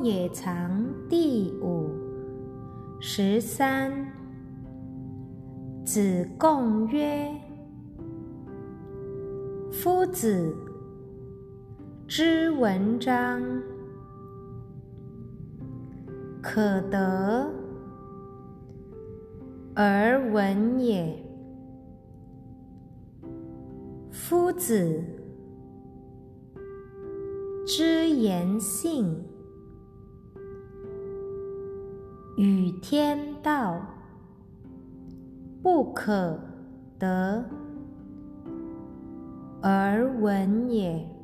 也藏第五13。子贡曰：夫子之文章，可得而闻也。夫子之言信，与天道，不可得而闻也。